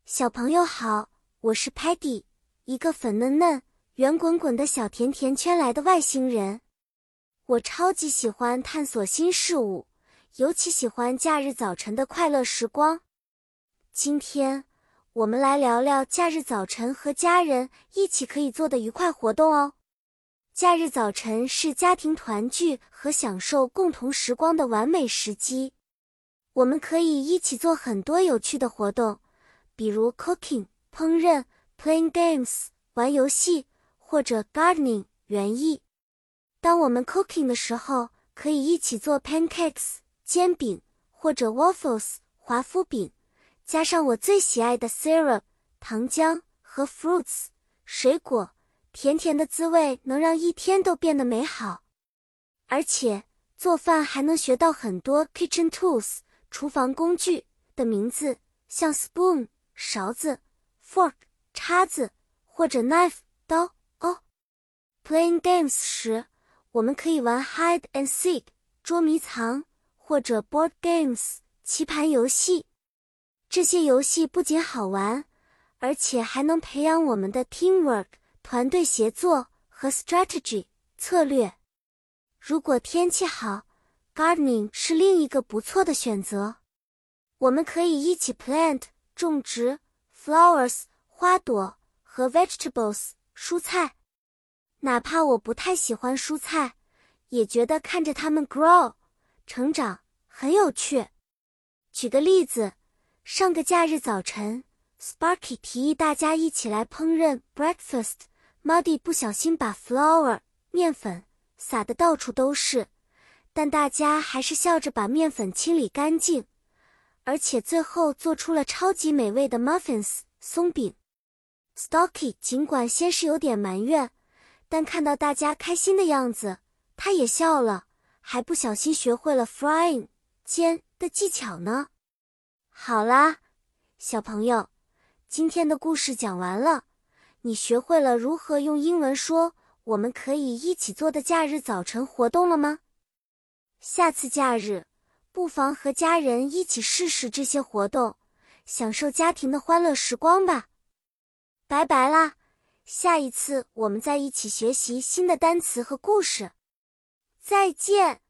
小朋友好，我是 Patty， 一个粉嫩嫩、圆滚滚的小甜甜圈来的外星人。我超级喜欢探索新事物，尤其喜欢假日早晨的快乐时光。今天，我们来聊聊假日早晨和家人一起可以做的愉快活动哦。假日早晨是家庭团聚和享受共同时光的完美时机。我们可以一起做很多有趣的活动，比如 cooking 烹饪、playing games 玩游戏，或者 gardening 园艺。当我们 cooking 的时候，可以一起做 pancakes 煎饼，或者 waffles 华夫饼，加上我最喜爱的 syrup 糖浆和 fruits 水果，甜甜的滋味能让一天都变得美好。而且做饭还能学到很多 kitchen tools 厨房工具的名字，像 spoon 勺子、fork 叉子，或者 knife 刀哦。Playing games 时，我们可以玩 hide and seek 捉迷藏，或者 board games 棋盘游戏。这些游戏不仅好玩，而且还能培养我们的 teamwork 团队协作和 strategy 策略。如果天气好， gardening 是另一个不错的选择。我们可以一起 plant 种植 flowers 花朵和 vegetables 蔬菜。哪怕我不太喜欢蔬菜，也觉得看着它们 grow 成长很有趣。举个例子，上个假日早晨 Sparky 提议大家一起来烹饪 breakfast， Muddy 不小心把 flour 面粉撒得到处都是，但大家还是笑着把面粉清理干净，而且最后做出了超级美味的 muffins 松饼。Stocky 尽管先是有点埋怨，但看到大家开心的样子，他也笑了，还不小心学会了 frying 煎的技巧呢。好啦，小朋友，今天的故事讲完了，你学会了如何用英文说我们可以一起做的假日早晨活动了吗？下次假日，不妨和家人一起试试这些活动，享受家庭的欢乐时光吧。拜拜啦，下一次我们再一起学习新的单词和故事。再见。